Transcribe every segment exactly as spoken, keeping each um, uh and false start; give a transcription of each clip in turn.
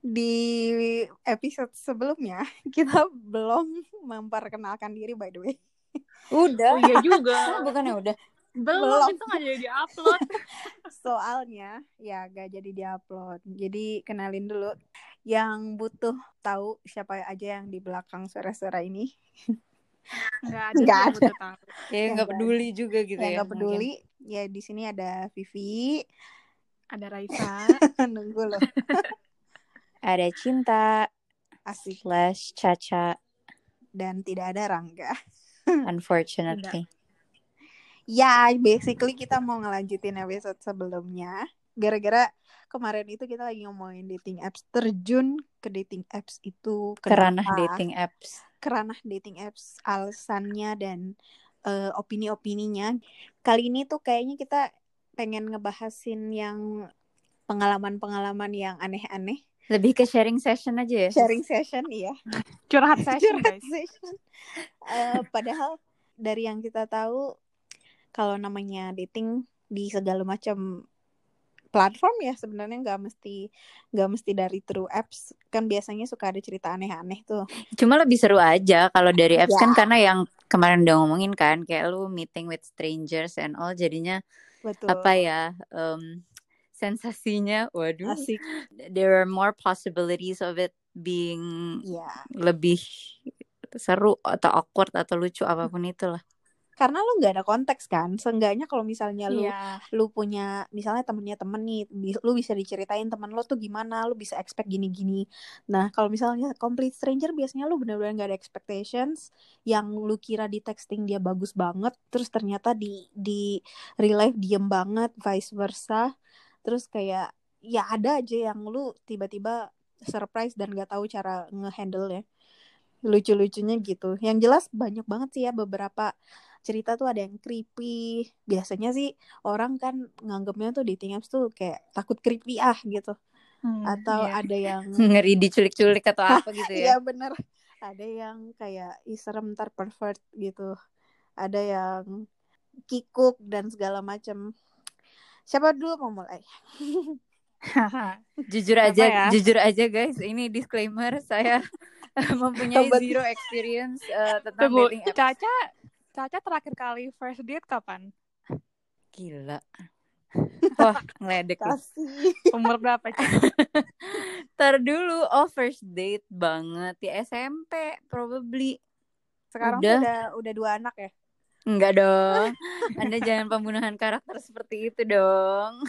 di episode sebelumnya kita belum memperkenalkan diri by the way. Udah. Oh iya juga. Bukannya udah? Belum, Belum. itu gak jadi di-upload. Soalnya ya gak jadi di-upload. Jadi kenalin dulu yang butuh tahu siapa aja yang di belakang suara-suara ini. Nggak ada Nggak sih yang ada. butuh tahu. Ya Yang nggak nggak peduli juga gitu Yang ya. nggak peduli. Ya di sini ada Vivi. Ada Raisa. Nunggu loh. Ada Cinta Asik. slash Caca. Dan tidak ada Rangga. Unfortunately. Ya, basically kita mau ngelanjutin episode sebelumnya. Gara-gara kemarin itu kita lagi ngomongin dating apps. Terjun ke dating apps itu Kerana kenapa? dating apps. Kerana dating apps. Alasannya dan uh, opini-opininya. Kali ini tuh kayaknya kita pengen ngebahasin yang pengalaman-pengalaman yang aneh-aneh. Lebih ke sharing session aja ya? Sharing session, iya. Curhat session, Curhat guys. session. Uh, padahal dari yang kita tahu, kalau namanya dating di segala macam platform ya sebenarnya nggak mesti nggak mesti dari through apps, kan biasanya suka ada cerita aneh-aneh tuh. Cuma lebih seru aja kalau dari apps Ya. kan, karena yang kemarin udah ngomongin kan kayak lu meeting with strangers and all, jadinya Betul. apa ya, um, sensasinya waduh, asik. There are more possibilities of it being Ya. lebih seru atau awkward atau lucu apapun itulah. Karena lu nggak ada konteks kan, seenggaknya kalau misalnya lu Iya. lu punya misalnya temennya temen nih, lu bisa diceritain temen lu tuh gimana, lu bisa expect gini-gini. Nah kalau misalnya complete stranger biasanya lu benar-benar nggak ada expectations, yang lu kira di texting dia bagus banget, terus ternyata di di real life diem banget, vice versa. Terus kayak ya ada aja yang lu tiba-tiba surprise dan nggak tahu cara ngehandle ya, lucu-lucunya gitu. Yang jelas banyak banget sih ya beberapa cerita tuh ada yang creepy. Biasanya sih orang kan nganggapnya tuh dating apps tuh kayak takut creepy ah gitu. Hmm, Atau iya. ada yang ngeri diculik-culik atau apa gitu ya. Iya bener. Ada yang kayak serem ntar pervert gitu. Ada yang kikuk dan segala macam. Siapa dulu mau mulai? Jujur Apa aja, ya? jujur aja guys, ini disclaimer, saya mempunyai Sobat. zero experience uh, tentang Tunggu, dating apps. Caca, Caca terakhir kali first date kapan? Gila. Wah, ngeledek lu. Kasih. Umur berapa, Caca? Ntar dulu, oh first date banget ya S M P probably. Sekarang udah. tuh udah udah dua anak ya? Enggak dong. Anda jangan pembunuhan karakter seperti itu dong.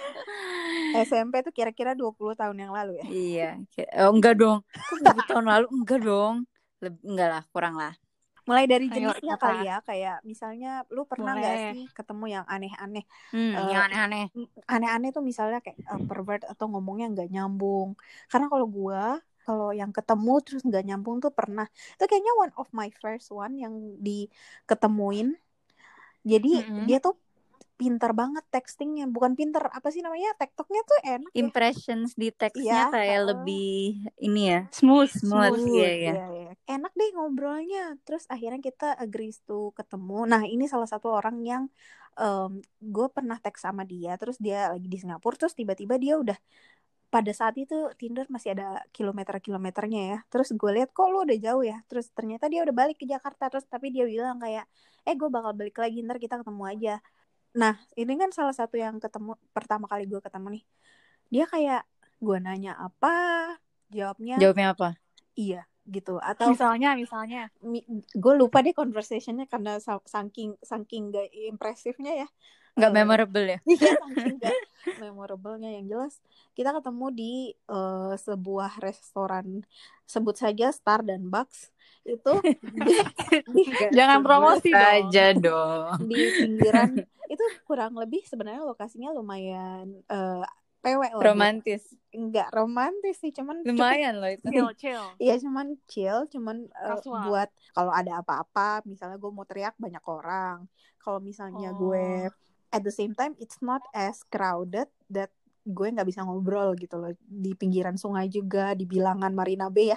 S M P tuh kira-kira dua puluh tahun yang lalu ya? Iya. Oh, enggak dong. Kok dua puluh tahun lalu? Enggak dong. Leb- enggak lah, kurang lah. Mulai dari Ayo, jenisnya Caca. kali ya, kayak misalnya lu pernah nggak Boleh. sih ketemu yang aneh-aneh? Hmm, Eh, yang aneh-aneh. Aneh-aneh tuh misalnya kayak uh, pervert atau ngomongnya nggak nyambung. Karena kalau gua kalau yang ketemu terus nggak nyambung tuh pernah. Itu kayaknya one of my first one yang diketemuin. Jadi Mm-mm. dia tuh pintar banget textingnya, bukan pintar apa sih namanya, tektoknya tuh enak ya. Impressions di teksnya Iya, kayak uh, lebih ini ya, Smooth, smooth, smooth. iya iya. Iya, iya. Enak deh ngobrolnya. Terus akhirnya kita agree to ketemu. Nah ini salah satu orang yang um, gue pernah teks sama dia. Terus dia lagi di Singapura. Terus tiba-tiba dia udah, pada saat itu Tinder masih ada kilometer-kilometernya ya. Terus gue lihat kok lu udah jauh ya. Terus ternyata dia udah balik ke Jakarta. Terus tapi dia bilang kayak, eh gue bakal balik lagi, ntar kita ketemu aja. Nah ini kan salah satu yang ketemu pertama kali gue ketemu nih. Dia kayak, gue nanya apa, jawabnya Jawabnya apa? iya gitu. Atau Misalnya, misalnya. gue lupa deh conversationnya karena saking saking gak impresifnya ya, nggak uh, memorable ya. iya saking gak memorablenya. Yang jelas kita ketemu di uh, sebuah restoran, sebut saja Star dan Bucks itu di, di, Jangan promosi dong. Saja dong. di pinggiran. Itu kurang lebih sebenarnya lokasinya lumayan uh, P W lah. Romantis. Enggak romantis sih, cuman lumayan loh itu. Chill, chill. Iya cuman chill, cuman uh, Kasual. buat kalau ada apa-apa, misalnya gue mau teriak banyak orang. Kalau misalnya Oh. gue at the same time it's not as crowded that gue nggak bisa ngobrol gitu loh. Di pinggiran sungai juga, di bilangan Marina Bay ya.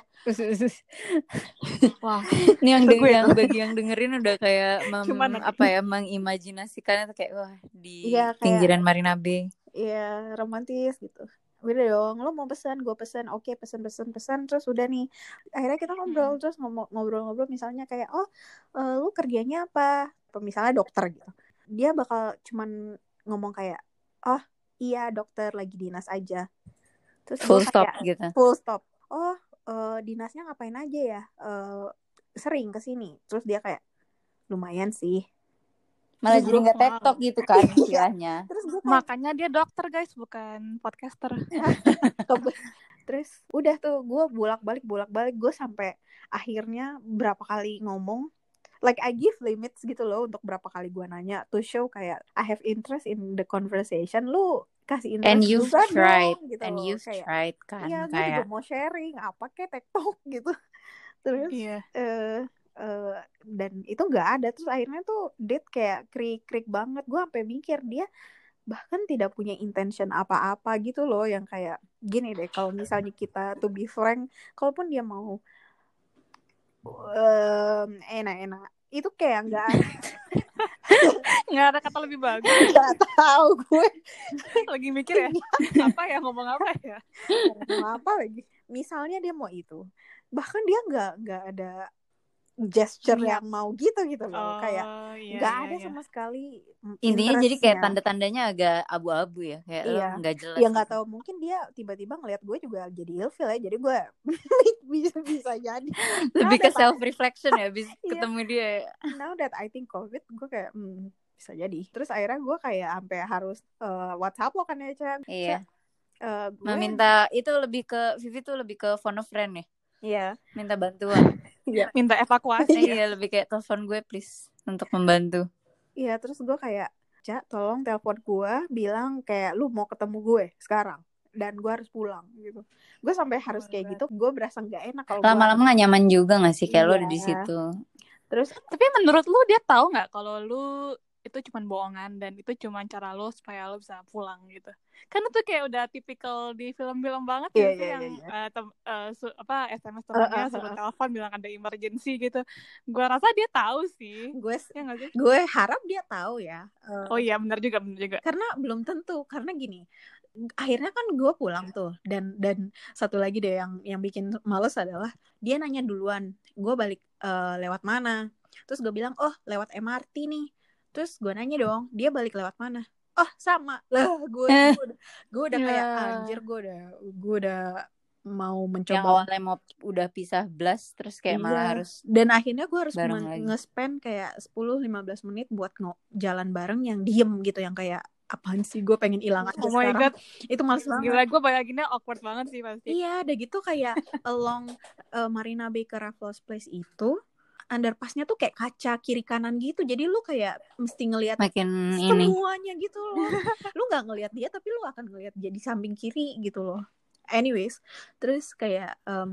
Wah, Ini yang, itu de- gue yang tuh. bagi yang dengerin udah kayak mem, Cuman apa ya, mengimajinasikannya tuh kayak wah di Iya, kayak pinggiran Marina Bay. iya romantis gitu. udah dong, lo mau pesan, gue pesan, oke pesan pesan pesan, terus udah nih, akhirnya kita ngobrol, Hmm. terus ngomong ngobrol-ngobrol misalnya kayak, oh uh, lu kerjanya apa, misalnya dokter gitu, dia bakal cuman ngomong kayak, oh iya dokter lagi dinas aja, terus gue Full stop kayak gitu. full stop, oh uh, dinasnya ngapain aja ya, uh, sering kesini, terus dia kayak lumayan sih. Malah Terus jadi gue nggak Wow. tektok gitu kan iya, istilahnya. terus gue kayak Makanya dia dokter guys, bukan podcaster. terus udah tuh gue bolak-balik bolak-balik gue sampai akhirnya berapa kali ngomong, like I give limits gitu loh untuk berapa kali gue nanya to show kayak I have interest in the conversation, lu kasih And interest you've juga tried, dong gitu and loh, you've kayak tried kan iya gue juga kayak mau sharing apa kayak TikTok gitu. Terus Iya. eh uh, dan itu nggak ada, terus akhirnya tuh date kayak krik-krik banget, gue sampai mikir dia bahkan tidak punya intention apa-apa gitu loh, yang kayak gini deh, kalau misalnya kita to be frank, kalaupun dia mau um, enak-enak itu kayak nggak Nggak ada kata lebih bagus. nggak tahu gue Lagi mikir ya, apa ya, ngomong apa ya? mau apa lagi, misalnya dia mau itu, bahkan dia nggak nggak ada gesture Niat. yang mau gitu gitu loh, Oh kayak iya nggak iya ada iya. sama sekali intinya jadi kayak interestnya. tanda-tandanya agak abu-abu ya, kayak lo Iya, nggak jelas ya nggak gitu. tahu, mungkin dia tiba-tiba ngeliat gue juga jadi ilfil ya, jadi gue bisa bisa jadi. Lebih Now ke that I- self reflection ya, abis Iya. ketemu dia. now that I think COVID, gue kayak hmm, bisa jadi. Terus akhirnya gue kayak sampai harus uh, WhatsApp lo kan ya, Chan. Iya. Uh, gue Meminta itu lebih ke Vivi tuh lebih ke phone a friend ya. Iya. Minta bantuan. Iya. Minta evakuasi. Iya, lebih kayak telepon gue please untuk membantu. Iya, terus gue kayak, Cak, tolong telepon gue, bilang kayak lu mau ketemu gue sekarang dan gue harus pulang gitu. Gue sampai harus kayak gitu, gue berasa nggak enak kalau gue Lama-lama nggak nyaman juga nggak sih kayak lo Iya. ada di situ. Terus Tapi menurut lu dia tahu nggak kalau lu itu cuma bohongan dan itu cuma cara lo supaya lo bisa pulang gitu? Kan itu kayak udah tipikal di film-film banget Iya, ya iya, sih, yang iya, iya. uh, tem- uh, su- apa S M S Uh, temannya uh, suruh uh. telepon bilang ada emergency gitu. Gua rasa dia tahu sih. gue Ya nggak sih? gue harap dia tahu ya. Uh, Oh iya, benar juga, benar juga. karena belum tentu, karena gini, akhirnya kan gue pulang tuh, dan dan satu lagi deh yang yang bikin males adalah dia nanya duluan gue balik uh, lewat mana, terus gue bilang oh lewat M R T nih, terus gue nanya dong dia balik lewat mana, oh sama lah, gue gue udah, gue udah kayak Ya. anjir, gue udah gue udah mau Yang mencoba awalnya mau udah pisah belas terus kayak malah iya, harus dan akhirnya gue harus bareng men- lagi. nge-spend kayak sepuluh sampai lima belas menit buat ngo- jalan bareng yang diem gitu, yang kayak apaan sih, gue pengen hilang aja Oh my sekarang. god, Itu males banget. gila, gue bayanginnya awkward banget sih pasti. Iya, udah gitu kayak along uh, Marina Bay ke Raffles Place itu underpassnya tuh kayak kaca kiri kanan gitu, jadi lu kayak mesti ngelihat Makin ini. semuanya gitu loh. Lu nggak ngelihat dia tapi lu akan ngelihat dia di samping kiri gitu loh. Anyways, terus kayak um,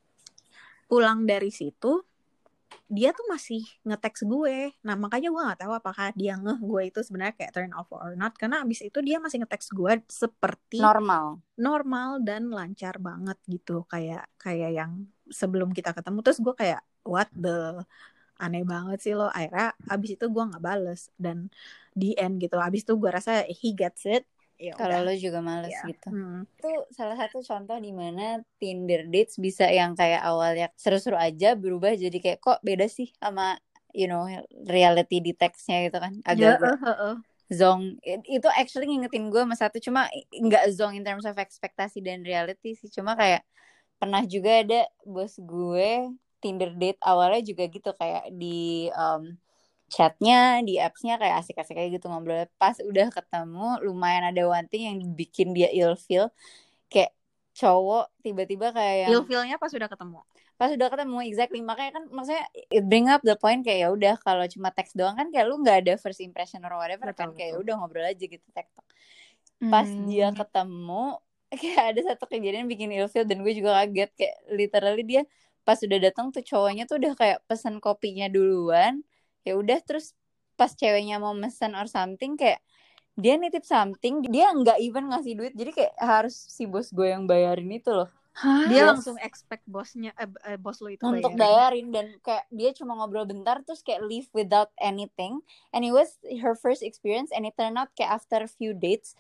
pulang dari situ dia tuh masih nge-text gue. Nah makanya gue nggak tahu apakah dia ngeh gue itu sebenarnya kayak turn off or not, karena abis itu dia masih nge-text gue seperti Normal. normal dan lancar banget gitu, kayak kayak yang sebelum kita ketemu. Terus gue kayak what the, aneh banget sih lo. Akhirnya abis itu gue nggak bales, dan di end gitu abis itu gue rasa he gets it. Ya Kalau udah. lo juga males Ya. gitu. Hmm. Itu salah satu contoh di mana Tinder dates bisa yang kayak awalnya seru-seru aja berubah jadi kayak kok beda sih sama you know reality di teksnya gitu kan, agak-agak Ya, uh, uh, uh. zong. Itu actually ngingetin gue sama satu, cuma nggak zong in terms of ekspektasi dan reality sih, cuma kayak pernah juga ada bos gue Tinder date awalnya juga gitu, kayak di um, chatnya di appsnya kayak asik-asik kayak gitu ngobrol. Pas udah ketemu lumayan ada one thing yang bikin dia ilfeel, kayak cowok tiba-tiba kayak yang ilfeelnya pas udah ketemu. Pas udah ketemu exactly, makanya kan maksudnya it bring up the point kayak ya udah kalau cuma teks doang kan kayak lu nggak ada first impression or whatever. Betul, kan kayak betul. udah ngobrol aja gitu tektok. Pas Hmm. dia ketemu kayak ada satu kejadian bikin ilfeel dan gue juga kaget, kayak literally dia pas udah datang tuh cowoknya tuh udah kayak pesen kopinya duluan. Ya udah, terus pas ceweknya mau mesen or something kayak dia nitip something, dia nggak even ngasih duit, jadi kayak harus si bos gue yang bayarin itu loh. Hah? Dia Yes. langsung expect bosnya eh, eh, bos lo itu Untuk bayarin. bayarin, dan kayak dia cuma ngobrol bentar terus kayak leave without anything, and it was her first experience and it turned out kayak after a few dates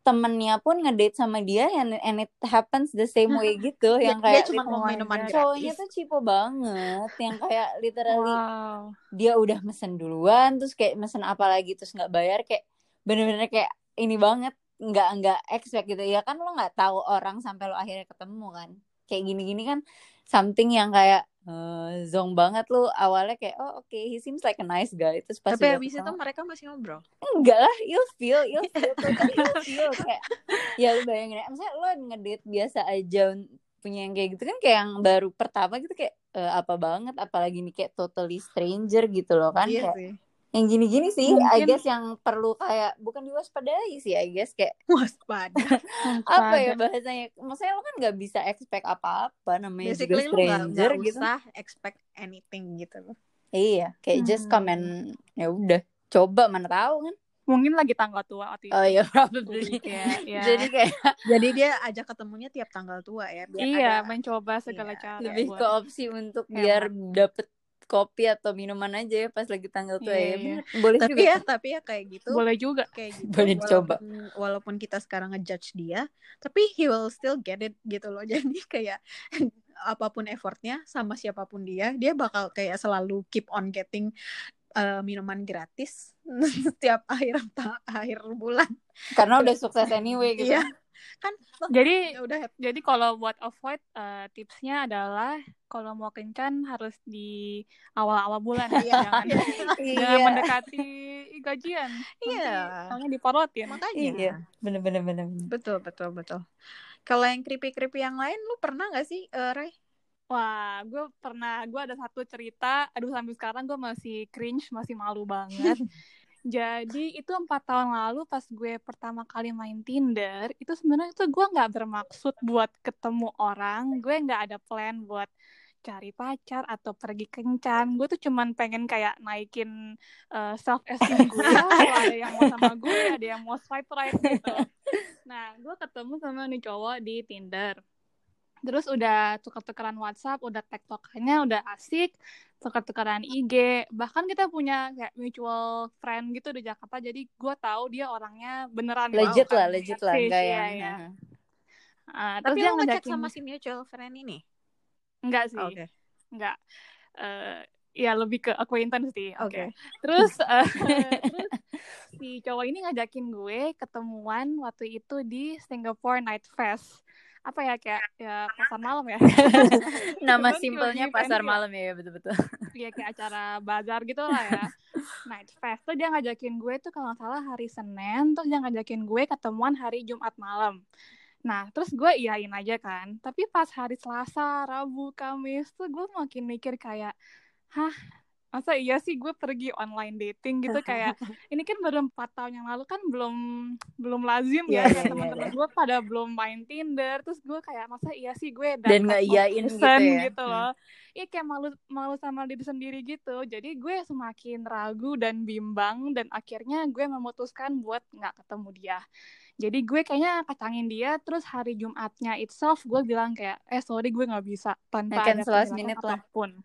temennya pun ngedate sama dia and, and it happens the same way gitu. Dia, yang dia kayak cuma lit- mau Oh my minuman God. cowoknya gratis. tuh cipo banget. Yang kayak literally Wow. dia udah mesen duluan, terus kayak mesen apa lagi terus nggak bayar, kayak bener-bener kayak ini banget, nggak nggak expect gitu ya kan. Lo nggak tahu orang sampai lo akhirnya ketemu kan. Kayak gini-gini kan something yang kayak uh, zong banget. Lo awalnya kayak oh oke okay, he seems like a nice guy, terus pas Tapi udah habis itu ketemu mereka masih ngobrol. enggak lah, you feel you feel totally you feel kayak ya lu bayangin ya, misalnya lo ngedate biasa aja punya yang kayak gitu kan, kayak yang baru pertama gitu kayak eh, apa banget, apalagi nih kayak totally stranger gitu loh kan. Iya Kayak sih. yang gini-gini sih I Mungkin guess yang perlu kayak bukan diwaspadai sih I guess, kayak Waspada. apa ya waspada. bahasanya, maksudnya lo kan nggak bisa expect apa-apa, namanya juga Basically lu nggak stranger nggak gitu. usah expect anything gitu loh. Iya kayak just come and Hmm. ya udah coba, mana tahu kan. Mungkin lagi tanggal tua waktu Oh itu. ya Jadi probably. kayak ya Jadi kayak Jadi dia ajak ketemunya tiap tanggal tua ya, biar iya ada mencoba segala iya, cara lebih buat ke opsi untuk biar hemat. dapet kopi atau minuman aja ya pas lagi tanggal tua Iya ya. iya. Bener. Boleh tapi juga ya tuh. tapi ya kayak gitu Boleh juga. kayak gitu Boleh dicoba. walaupun walaupun kita sekarang ngejudge dia, tapi he will still get it gitu loh. Jadi kayak apapun effortnya sama siapapun dia, dia bakal kayak selalu keep on getting uh, minuman gratis setiap akhir ta- akhir bulan. Karena udah sukses anyway gitu. Iya kan. Jadi Ya udah jadi kalau buat avoid uh, tipsnya adalah kalau mau kencan harus di awal-awal bulan ya. Iya. Jangan jangan Iya. mendekati gajian. Nanti Iya. soalnya diporotin. Makanya. Iya. Bener-bener bener. Betul betul betul. Kalau yang creepy-creepy yang lain lu pernah gak sih, uh, Ray? Wah, gue pernah, gue ada satu cerita, aduh sampai sekarang gue masih cringe, masih malu banget. Jadi itu empat tahun lalu pas gue pertama kali main Tinder, itu sebenarnya tuh gue nggak bermaksud buat ketemu orang, gue nggak ada plan buat cari pacar atau pergi kencan. Gue tuh cuman pengen kayak naikin uh, self esteem gue. Kalau ada yang mau sama gue, ada yang mau swipe right gitu. Nah, gue ketemu sama nih cowok di Tinder. Terus udah tukar-tukaran WhatsApp, udah tektokannya udah asik, tukar-tukaran I G. Bahkan kita punya kayak mutual friend gitu di Jakarta. Jadi gue tahu dia orangnya beneran Legit wow, lah, kan, legit lah, enggak ya, yang. ya. Uh, Tapi terus dia lu ngechat ngajakin sama si mutual friend ini? Enggak sih. Oke. Okay. Enggak. Uh, ya lebih ke acquaintance sih. Oke. Okay. Okay. Terus uh, terus si cowok ini ngajakin gue ketemuan waktu itu di Singapore Night Fest. Apa ya, kayak ya pasar malam ya. Nama simpelnya pasar malam ya, betul-betul. Iya, kayak acara bazar gitu lah ya. Night Fest tuh dia ngajakin gue tuh kalau nggak salah hari Senin, terus dia ngajakin gue ketemuan hari Jumat malam. Nah, terus gue iyain aja kan. Tapi pas hari Selasa, Rabu, Kamis tuh gue makin mikir kayak, hah, masa iya sih gue pergi online dating gitu, kayak ini kan baru empat tahun yang lalu kan belum belum lazim ya, yeah, kayak yeah, teman-teman yeah. gue pada belum main Tinder, terus gue kayak masa iya sih gue dan nggak iyain gitu ya gitu loh. Iya, kayak malu malu sama diri sendiri gitu. Jadi gue semakin ragu dan bimbang, dan akhirnya gue memutuskan buat nggak ketemu dia. Jadi gue kayaknya kacangin dia, terus hari Jumatnya itself gue bilang kayak eh sorry gue nggak bisa tanpa ada penjelasan apapun.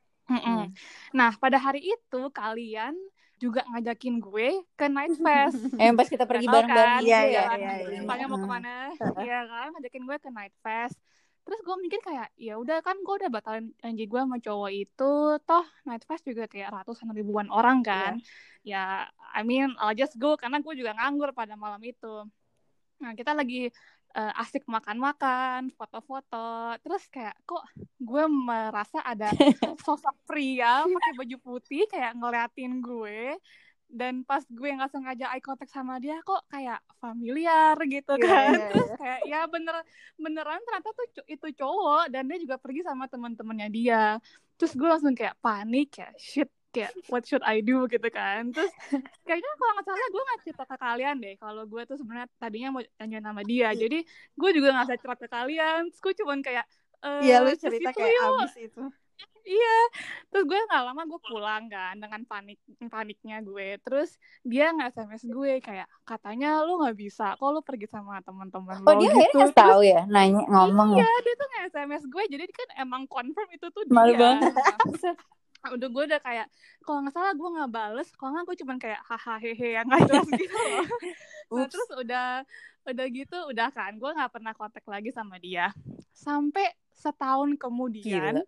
Hmm. Nah, pada hari itu kalian juga ngajakin gue ke Night Fest. Eh, pas kita pergi bareng-bareng gitu ya, ya. Iya, iya, Tanya mau kemana? Iya kan, ngajakin gue ke Night Fest. Terus gue mikir kayak, ya udah kan gue udah batalin janji gue sama cowok itu. Toh Night Fest juga kayak ratusan ribuan orang kan. Yeah. Ya, I mean, I'll just go karena gue juga nganggur pada malam itu. Nah, kita lagi uh, asik makan-makan, foto-foto. Terus kayak kok gue merasa ada sosok pria pakai baju putih kayak ngeliatin gue. Dan pas gue nggak sengaja eye contact sama dia, kok kayak familiar gitu kan. Yeah, yeah, yeah. Terus kayak ya bener beneran ternyata tuh itu cowok, dan dia juga pergi sama teman-temannya dia. Terus gue langsung kayak panik, kayak shit, kayak what should I do gitu kan. Terus kayaknya kalau nggak salah gue nggak cerita ke kalian deh kalau gue tuh sebenarnya tadinya mau janjian sama dia. Jadi gue juga nggak usah cerita ke kalian. Terus gue cuman kayak iya, lu cerita kayak yuk. Abis itu. Iya, terus gue nggak lama gue pulang kan dengan panik paniknya gue. Terus dia nggak S M S gue kayak katanya lu nggak bisa, kok lu pergi sama teman-teman oh, lo dia gitu. Terus tahu ya, nanya ngomong iya, ya. Iya, dia tuh nggak S M S gue, jadi kan emang confirm itu tuh Malu dia. banget. udah gue udah kayak kalau nggak salah gue nggak bales, kalau nggak gue cuman kayak haha hehe yang nggak jelas gitu loh. Nah terus udah udah gitu udah kan gue nggak pernah kontak lagi sama dia sampai setahun kemudian. Gila.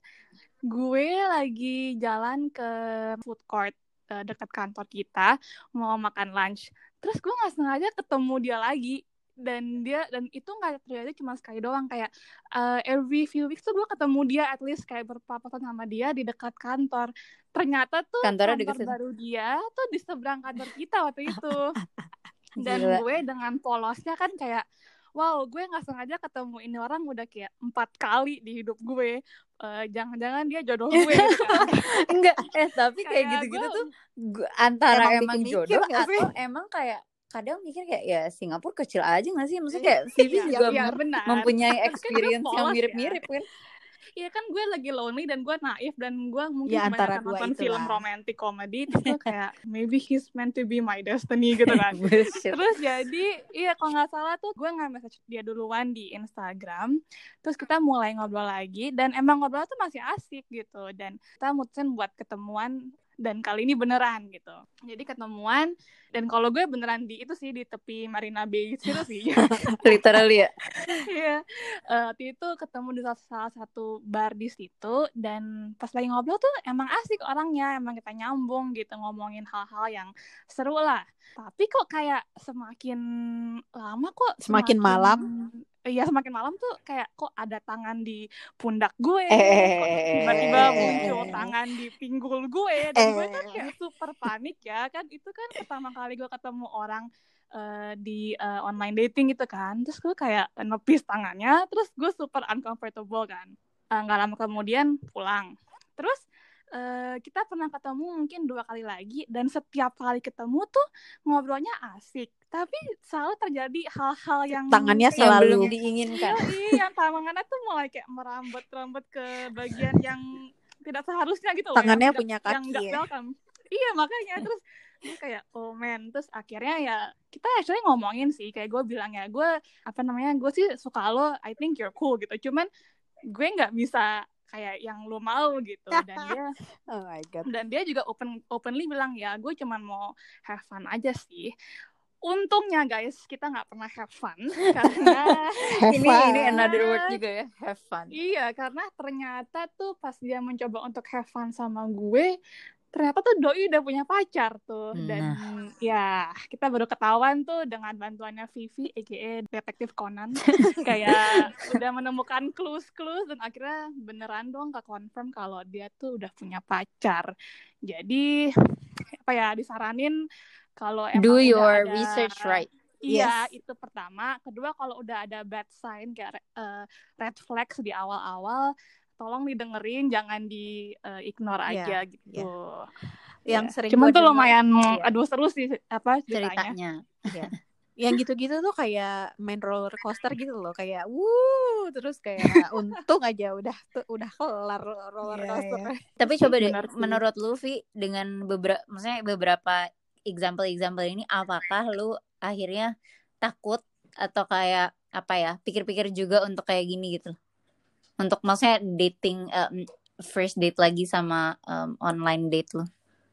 Gue lagi jalan ke food court uh, dekat kantor kita mau makan lunch, terus gue nggak sengaja ketemu dia lagi. Dan dia dan itu nggak terjadi cuma sekali doang, kayak uh, every few weeks tuh gue ketemu dia at least kayak berpapasan sama dia di dekat kantor. Ternyata tuh Kantornya kantor di baru dia tuh di seberang kantor kita waktu itu. Dan Gila. gue dengan polosnya kan kayak wow, gue nggak sengaja ketemu ini orang udah kayak empat kali di hidup gue. Uh, jangan-jangan dia jodoh gue gitu kan. Enggak, eh tapi kayak, Kayak gitu-gitu gue- tuh gu- antara Emang emang, bikin jodoh mikir nggak sih? atau emang kayak kadang mikir kayak ya Singapura kecil aja nggak sih? Maksudnya kayak Vivi Iya, juga iya, mem- benar. mempunyai Tapi kan gue experience yang polos mirip-mirip kan? Iya kan gue lagi lonely dan gue naif dan gue mungkin Ya, antara kebanyakan dua nonton itulah. film romantic comedy, terus gue kayak maybe he's meant to be my destiny gitu kan. Bullshit. Terus jadi iya kalau nggak salah tuh gue nggak message dia duluan di Instagram, terus kita mulai ngobrol lagi dan emang ngobrol tuh masih asik gitu dan kita mutusin buat ketemuan dan kali ini beneran gitu. Jadi ketemuan dan kalau gue beneran di itu sih di tepi Marina Bay situ sih. Literally ya. Iya, uh, waktu itu ketemu di salah satu bar di situ dan pas lagi ngobrol tuh emang asik orangnya, emang kita nyambung gitu ngomongin hal-hal yang seru lah. Tapi kok kayak semakin lama kok Semakin malam? Iya semakin malam tuh kayak kok ada tangan di pundak gue, Eh. kok tiba-tiba muncul tangan di pinggul gue dan gue kan kayak super panik ya kan itu kan pertama kali gue ketemu orang Uh, di uh, online dating gitu kan, terus gue kayak nepis tangannya, terus gue super uncomfortable kan, nggak uh, lama kemudian pulang, terus uh, kita pernah ketemu mungkin dua kali lagi dan setiap kali ketemu tuh ngobrolnya asik, tapi selalu terjadi hal-hal yang tangannya Yang selalu belum diinginkan. iya, yang tangannya tuh mulai kayak merambut-rambut ke bagian yang tidak seharusnya gitu loh, tangannya yang punya tidak, yang kaki nggak ya. welcome. Iya makanya terus gue kayak oh man, terus akhirnya ya kita actually ngomongin sih, kayak gue bilang ya gue apa namanya gue sih suka lo, I think you're cool gitu, cuman gue nggak bisa kayak yang lo mau gitu. Dan dia Oh my God. dan dia juga open openly bilang ya gue cuman mau have fun aja sih. Untungnya guys kita nggak pernah have fun karena ini fun. ini another word juga ya, have fun. Iya karena ternyata tuh pas dia mencoba untuk have fun sama gue, ternyata tuh doi udah punya pacar tuh. Dan Nah. ya kita baru ketahuan tuh dengan bantuannya Vivi aka Detektif Conan kayak udah menemukan clues-clues dan akhirnya beneran dong ke-confirm kalau dia tuh udah punya pacar. Jadi apa ya disaranin kalau emang Do udah your ada, research right. Iya, Yes. itu pertama. Kedua, kalau udah ada bad sign kayak uh, red flags di awal-awal, tolong didengerin, jangan di uh, ignore Yeah, aja gitu. yeah. Yang Yeah. sering Cuman gua tuh denger, lumayan, iya. aduh seru sih apa ceritanya. Ceritanya. Ya. Yang gitu-gitu tuh kayak main roller coaster gitu loh, kayak wuh, terus kayak untung aja udah tuh udah kelar roller Iya, coaster. iya. Tapi coba deh, Benar sih. menurut lu Vi, dengan beberapa, maksudnya beberapa example-example ini, apakah lu akhirnya takut atau kayak apa ya, pikir-pikir juga untuk kayak gini gitu? Untuk maksudnya dating, um, first date lagi sama um, online date lu?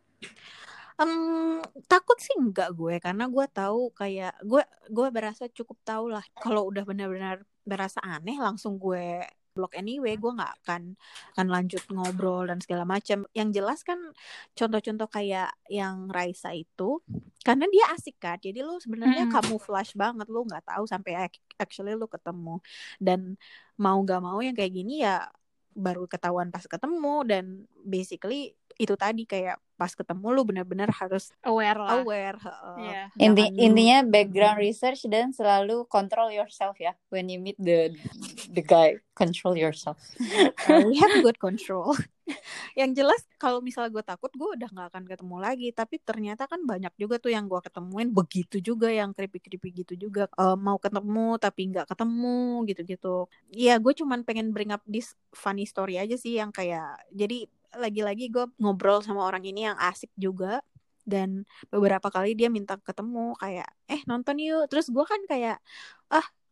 Um, takut sih enggak gue, karena gue tahu kayak gue gue berasa cukup tahu lah kalau udah benar-benar berasa aneh langsung gue block anyway, gue nggak akan akan lanjut ngobrol dan segala macam. Yang jelas kan contoh-contoh kayak yang Raisa itu karena dia asik kan, jadi lu sebenarnya Mm-mm. camouflage banget, lu nggak tahu sampai actually lu ketemu, dan mau nggak mau yang kayak gini ya baru ketahuan pas ketemu. Dan basically itu tadi kayak pas ketemu lu benar-benar harus Aware lah. aware. Uh, Iya. Inti, jangan- intinya background research dan selalu control yourself ya. When you meet the the guy, control yourself. Uh, we have good control. Yang jelas kalau misalnya gue takut, gue udah nggak akan ketemu lagi. Tapi ternyata kan banyak juga tuh yang gue ketemuin begitu juga, yang creepy-creepy gitu juga. Uh, mau ketemu tapi nggak ketemu gitu-gitu. Iya, gue cuman pengen bring up this funny story aja sih, yang kayak jadi lagi-lagi gue ngobrol sama orang ini yang asik juga. Dan beberapa kali dia minta ketemu kayak eh nonton yuk. Terus gue kan kayak ah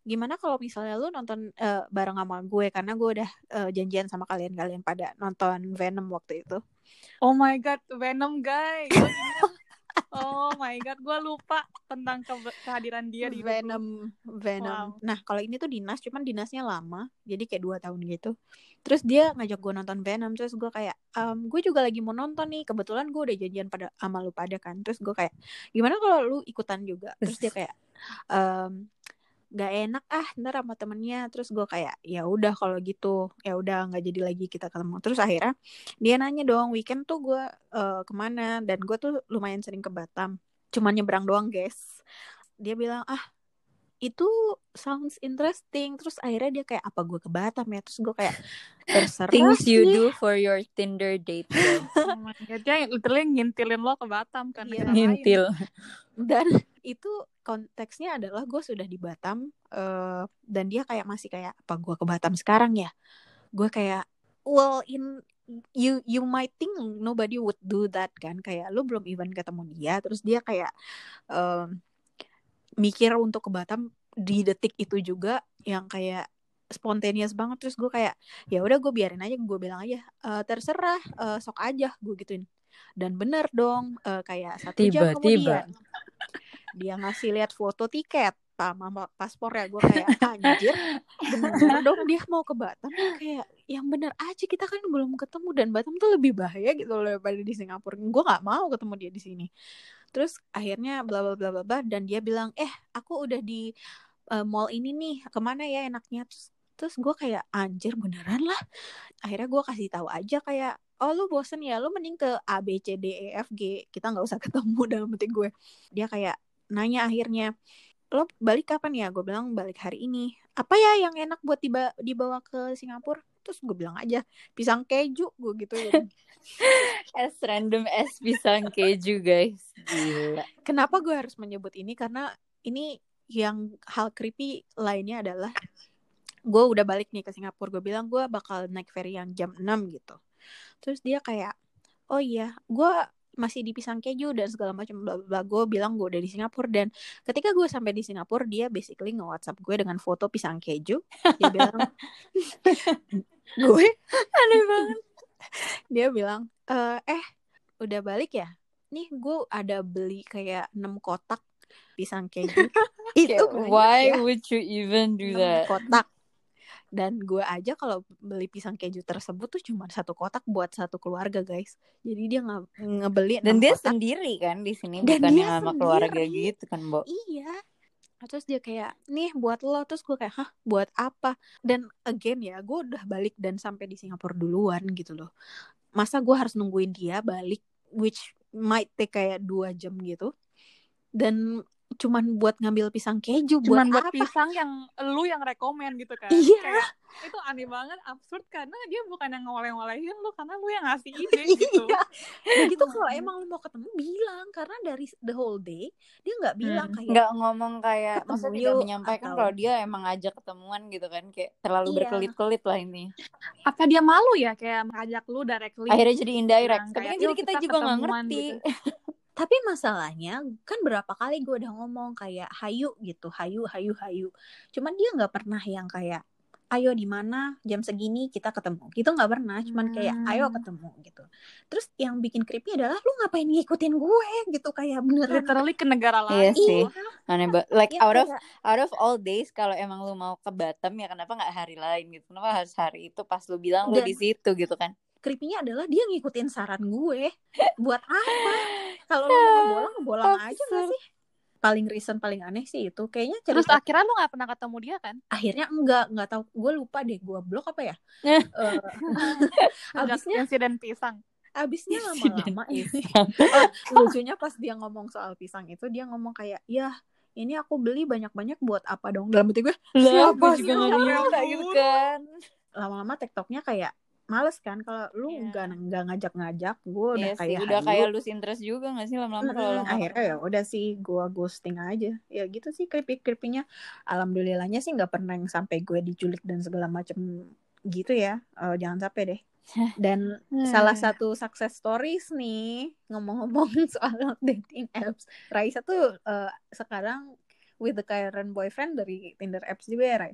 gimana kalau misalnya lu nonton uh, bareng sama gue, karena gue udah uh, janjian sama kalian-kalian pada nonton Venom waktu itu. Oh my god, Venom guys. Gue ingat. Oh my god, gue lupa tentang ke- kehadiran dia di Venom, Venom. Wow. Nah kalau ini tuh dinas, cuman dinasnya lama, jadi kayak dua tahun gitu. Terus dia ngajak gue nonton Venom, terus gue kayak, um, gue juga lagi mau nonton nih. Kebetulan gue udah janjian pada sama lu pada kan. Terus gue kayak, gimana kalau lu ikutan juga? Terus dia kayak, um, gak enak ah ntar sama temennya. Terus gue kayak ya udah kalau gitu ya udah nggak jadi lagi kita ketemu. Terus akhirnya dia nanya dong, weekend tuh gue uh, kemana, dan gue tuh lumayan sering ke Batam, cuman nyebrang doang guys. Dia bilang ah itu sounds interesting. Terus akhirnya dia kayak apa gue ke Batam ya. Terus gue kayak terserah Things sih. you do for your Tinder date guys. Oh my god, dia literally ngintilin lo ke Batam kan. Iya, Ngintil. Dan itu konteksnya adalah gue sudah di Batam, uh, dan dia kayak masih kayak apa gue ke Batam sekarang ya. Gue kayak well in you you might think nobody would do that kan, kayak lu belum even ketemu dia terus dia kayak um, mikir untuk ke Batam di detik itu juga, yang kayak spontaneous banget. Terus gue kayak ya udah gue biarin aja, gue bilang aja e, terserah, uh, sok aja gue gituin. Dan bener dong, uh, kayak satu jam Tiba-tiba. kemudian dia ngasih lihat foto tiket sama paspornya. Gue kayak anjir, bener dong dia mau ke Batam. Kayak yang bener aja, kita kan belum ketemu, dan Batam tuh lebih bahaya gitu loh daripada di Singapura. Gue nggak mau ketemu dia di sini. Terus akhirnya bla bla bla bla, dan dia bilang eh aku udah di uh, mall ini nih, kemana ya enaknya. Terus terus gue kayak anjir beneran lah. Akhirnya gue kasih tahu aja kayak oh lu bosen ya, lu mending ke A B C D E F G, kita nggak usah ketemu dalam hati gue. Dia kayak nanya akhirnya lo balik kapan ya? Gue bilang balik hari ini. Apa ya yang enak buat diba- dibawa ke Singapura? Terus gue bilang aja pisang keju, gue gituin. As random as pisang keju guys. Gila. Kenapa gue harus menyebut ini? Karena ini yang hal creepy lainnya adalah gue udah balik nih ke Singapura. Gue bilang gue bakal naik ferry yang jam enam gitu. Terus dia kayak oh iya gue masih di pisang keju dan segala macam bla bla. Gue bilang gue udah di Singapura, dan ketika gue sampai di Singapura dia basically nge-WhatsApp gue dengan foto pisang keju. Dia bilang gue aneh banget. Dia bilang e, eh udah balik ya? Nih gue ada beli kayak enam kotak pisang keju. Itu why ya, would you even do that? kotak. Dan gue aja kalau beli pisang keju tersebut tuh cuma satu kotak buat satu keluarga guys. Jadi dia nge- ngebeli dan dia kotak. sendiri kan di sini, Dan bukan dia yang sama sendiri. keluarga gitu kan, Bo. Iya. Terus dia kayak nih buat lo. Terus gue kayak hah buat apa? Dan again ya, gue udah balik dan sampai di Singapura duluan gitu loh. Masa gue harus nungguin dia balik, which might take kayak dua jam gitu, dan cuman buat ngambil pisang keju. Cuman buat, buat apa? Pisang yang lu yang rekomen gitu kan. Iya. Kayak itu aneh banget, absurd, karena dia bukan yang ngoleh-ngolehin lu, karena lu yang ngasih ide gitu. Iya. Dan gitu kalau emang lu mau ketemu bilang, karena dari the whole day dia nggak bilang hmm. kayak nggak ngomong kayak maksudnya tidak menyampaikan atau... kalau dia emang ngajak ketemuan gitu kan, kayak terlalu iya. berkelit-kelit lah ini. Apa dia malu ya kayak ngajak lu directly? Akhirnya jadi indirect. Tapi kayak, kan jadi kita, kita juga nggak ngerti. Gitu. Tapi masalahnya kan berapa kali gue udah ngomong kayak hayu gitu, hayu, hayu, hayu. Cuman dia nggak pernah yang kayak ayo di mana jam segini kita ketemu. Gitu nggak pernah. Cuman kayak ayo ketemu gitu. Terus yang bikin creepy adalah lu ngapain ngikutin gue gitu, kayak beneran literally ke negara lain. Iya sih. Aneh banget. Like ya, out of kayak... out of all days, kalau emang lu mau ke Batam ya kenapa nggak hari lain gitu? Kenapa harus hari itu pas lu bilang lu di situ gitu kan? Creepy-nya adalah dia ngikutin saran gue. Buat apa? Kalau lu mau ngebolang, ngebolang aja gak sih? Paling recent, paling aneh sih itu. Kayaknya cerita... Terus akhirnya lu gak pernah ketemu dia kan? Akhirnya enggak, enggak tahu. Gue lupa deh, gue blok apa ya? uh, abisnya insiden pisang. Abisnya lama-lama oh, lucunya pas dia ngomong soal pisang itu, dia ngomong kayak, ya ini aku beli banyak-banyak buat apa dong? Dalam hati gue, siapa sih nggak gitu kan? Lama-lama TikToknya kayak males kan kalau lu nggak yeah. nggak ngajak-ngajak. Gue udah yes, kayak udah kayak lose interest juga nggak sih lama-lama kalau mm, akhirnya ya udah sih gue ghosting aja ya gitu sih. creepy creepynya alhamdulillahnya sih nggak pernah yang sampai gue diculik dan segala macem gitu ya. Uh, jangan sampai deh. Dan salah satu success stories nih ngomong-ngomong soal dating apps, Raisa tuh uh, sekarang with the current boyfriend dari Tinder apps juga ya, Ray?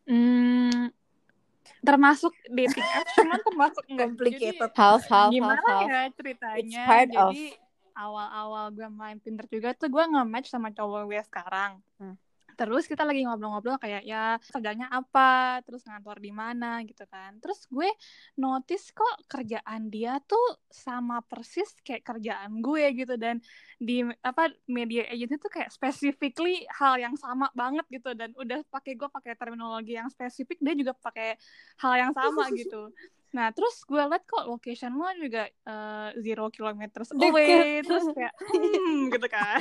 Hmm, termasuk dating apps, cuman termasuk enggak. Complicated. Jadi Half, half, half, gimana half. ya It's ceritanya? part of. Jadi awal-awal gue main Tinder juga tuh gue nge-match sama cowok gue sekarang. Hmm. Terus kita lagi ngobrol-ngobrol kayak ya kerjanya apa, terus ngantor di mana gitu kan. Terus gue notice kok kerjaan dia tuh sama persis kayak kerjaan gue gitu, dan di apa media agency tuh kayak specifically hal yang sama banget gitu, dan udah pakai gue pakai terminologi yang spesifik, dia juga pakai hal yang sama gitu. Nah, terus gue liat kok location lo juga uh, zero kilometers away, terus kayak hmm gitu kan.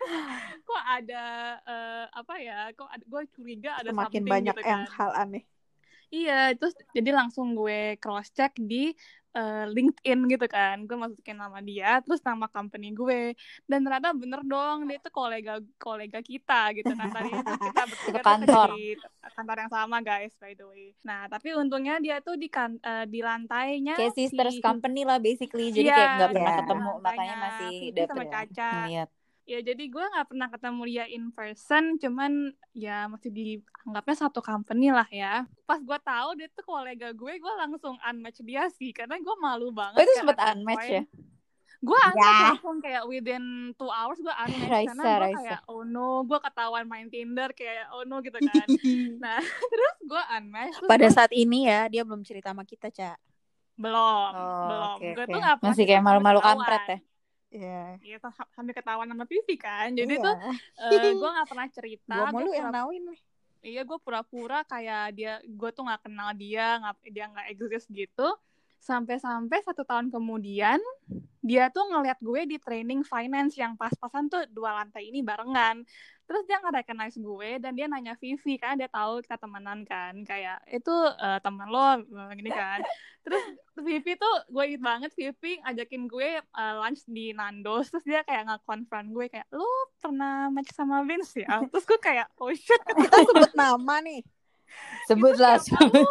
Kok ada uh, apa ya? Kok ada, gue curiga ada Semakin something banyak gitu yang kan. hal aneh. Iya, terus jadi langsung gue cross check di uh, LinkedIn gitu kan. Gue masukin nama dia, terus nama company gue, dan ternyata bener dong, dia itu kolega kolega kita gitu kan. Tadinya tuh kita bertiga tuh kerja di kantor yang sama guys, by the way. Nah, tapi untungnya dia tuh di kan uh, di lantainya kayak sisters si... company lah basically. Jadi yeah, kayak nggak pernah yeah. ketemu, makanya masih dapet sama Caca. Ngeliat. Ya jadi gue nggak pernah ketemu dia in person, cuman ya masih dianggapnya satu company lah ya. Pas gue tahu dia tuh kolega gue, gue langsung unmatch dia sih, karena gue malu banget. Oh itu sempet unmatch ya? Gue unmatch yeah. langsung kayak within two hours gue unmatch. Raisa, karena gue kayak oh no, gue ketahuan main Tinder kayak oh no gitu kan. Nah terus gue unmatch. Pada gua... saat ini ya dia belum cerita sama kita, Ca. Belum, oh, belum. Okay, gue okay. tuh nggak pernah. Masih kayak malu-malu kampret ya. Iya, yeah. yeah, sampai ketahuan sama Vivi kan. Jadi iya. tuh uh, gue nggak pernah cerita. Gue mulu pura- yang nauin nih. Iya, gue pura-pura kayak dia, gue tuh nggak kenal dia, nggak dia nggak exist gitu. Sampai-sampai satu tahun kemudian dia tuh ngeliat gue di training finance yang pas-pasan tuh dua lantai ini barengan. Terus dia nge-recognize gue dan dia nanya Vivi, kan dia tahu kita temenan kan, kayak itu uh, teman lo gini kan. Terus Vivi tuh gue inget banget, Vivi ngajakin gue uh, lunch di Nando's, terus dia kayak nge-confront gue kayak, lo pernah match sama Vince ya? Terus gue kayak oh shit, kita sebut nama nih. Sebutlah, sebut.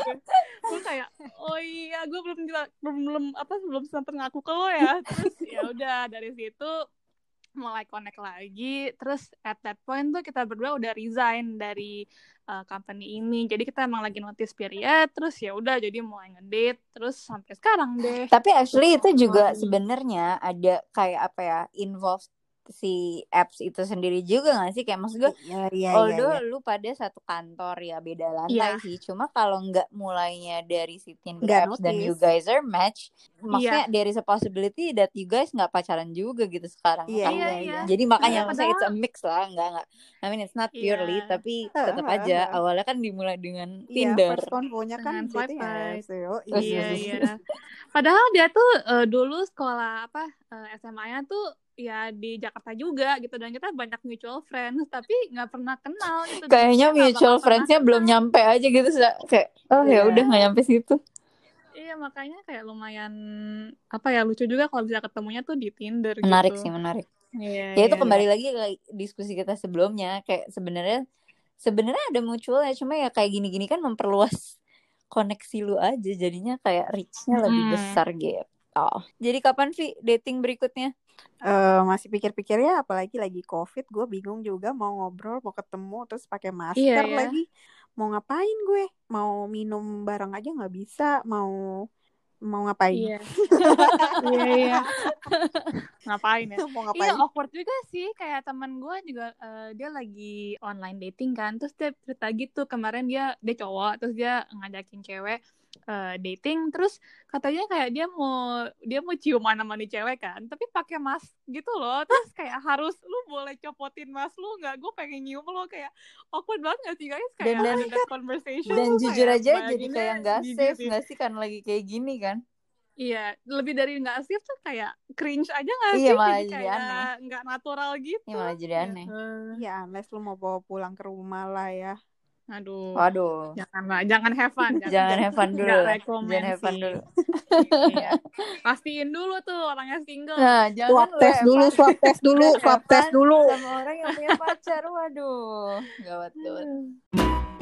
Gue kayak oh iya, gue belum belum belum apa belum sempat ngaku ke lo ya. Terus ya udah dari situ mulai connect lagi. Terus at that point tuh kita berdua udah resign dari uh, company ini. Jadi kita emang lagi notice period. Terus ya udah jadi mulai ngedate. Terus sampai sekarang deh. Tapi actually itu juga sebenarnya ada kayak apa ya, involved si apps itu sendiri juga gak sih? Kayak maksud gue ya, ya, although ya, ya. lu pada satu kantor ya beda lantai ya. Sih, cuma kalau nggak mulainya dari si Tinder gak apps notice. Dan you guys are match, maksudnya ya. There is a possibility that you guys nggak pacaran juga gitu sekarang. Iya, iya, iya. Jadi makanya ya, maksudnya it's a mix lah, nggak nggak. I mean it's not purely, yeah. Tapi tetap uh, aja uh, uh. awalnya kan dimulai dengan iya, Tinder. First convo-nya kan swipe ya, so, iya iya. Padahal dia tuh uh, dulu sekolah apa uh, S M A-nya tuh ya di Jakarta juga gitu, dan kita banyak mutual friends tapi nggak pernah kenal gitu. Kayaknya mutual friends-nya belum nyampe aja gitu, kayak oh yeah. ya udah nggak nyampe situ. Iya, makanya kayak lumayan apa ya, lucu juga kalau bisa ketemunya tuh di Tinder. Menarik gitu. sih, menarik. Iya, ya itu iya, kembali iya. lagi ke diskusi kita sebelumnya, kayak sebenarnya sebenarnya ada mutual ya, cuma ya kayak gini-gini kan memperluas koneksi lu aja, jadinya kayak reach-nya lebih hmm. besar gitu. Oh. Jadi kapan Vi dating berikutnya? Uh, masih pikir-pikir ya, apalagi lagi COVID, gue bingung juga mau ngobrol, mau ketemu, terus pakai masker iya, iya. lagi. Mau ngapain gue? Mau minum bareng aja nggak bisa, mau mau ngapain? Iya, iya, iya. Ngapain ya? Mau ngapain? Iya, awkward juga sih. Kayak teman gue juga uh, dia lagi online dating kan, terus dia cerita gitu kemarin dia dia cowok, terus dia ngajakin cewek uh, dating, terus katanya kayak dia mau dia mau ciuman sama nih cewek kan, tapi pakai mask gitu loh, terus kayak harus lu boleh copotin mask lu nggak, gue pengen nyium lo, kayak awkward banget sih guys, kayak dan, ada that conversation. Dan jujur aja jadi bayanginnya kayak nggak safe sih. nggak sih kan lagi kayak gini kan? Iya, lebih dari nggak safe tuh kayak cringe aja nggak iya, sih? Malah jadi jadi kayak aneh. Nggak natural gitu. Iya malah jadi aneh. Iya, uh, unless lu mau bawa pulang ke rumah lah ya. Aduh. Waduh. Janganlah, jangan have fun. Jangan, jangan have fun dulu. Jangan have fun dulu. Iya. Pastiin dulu tuh orangnya single. Nah, jangan swab test dulu, swab test dulu, swab test dulu. Sama orang yang punya pacar, waduh. Gawat, gawat.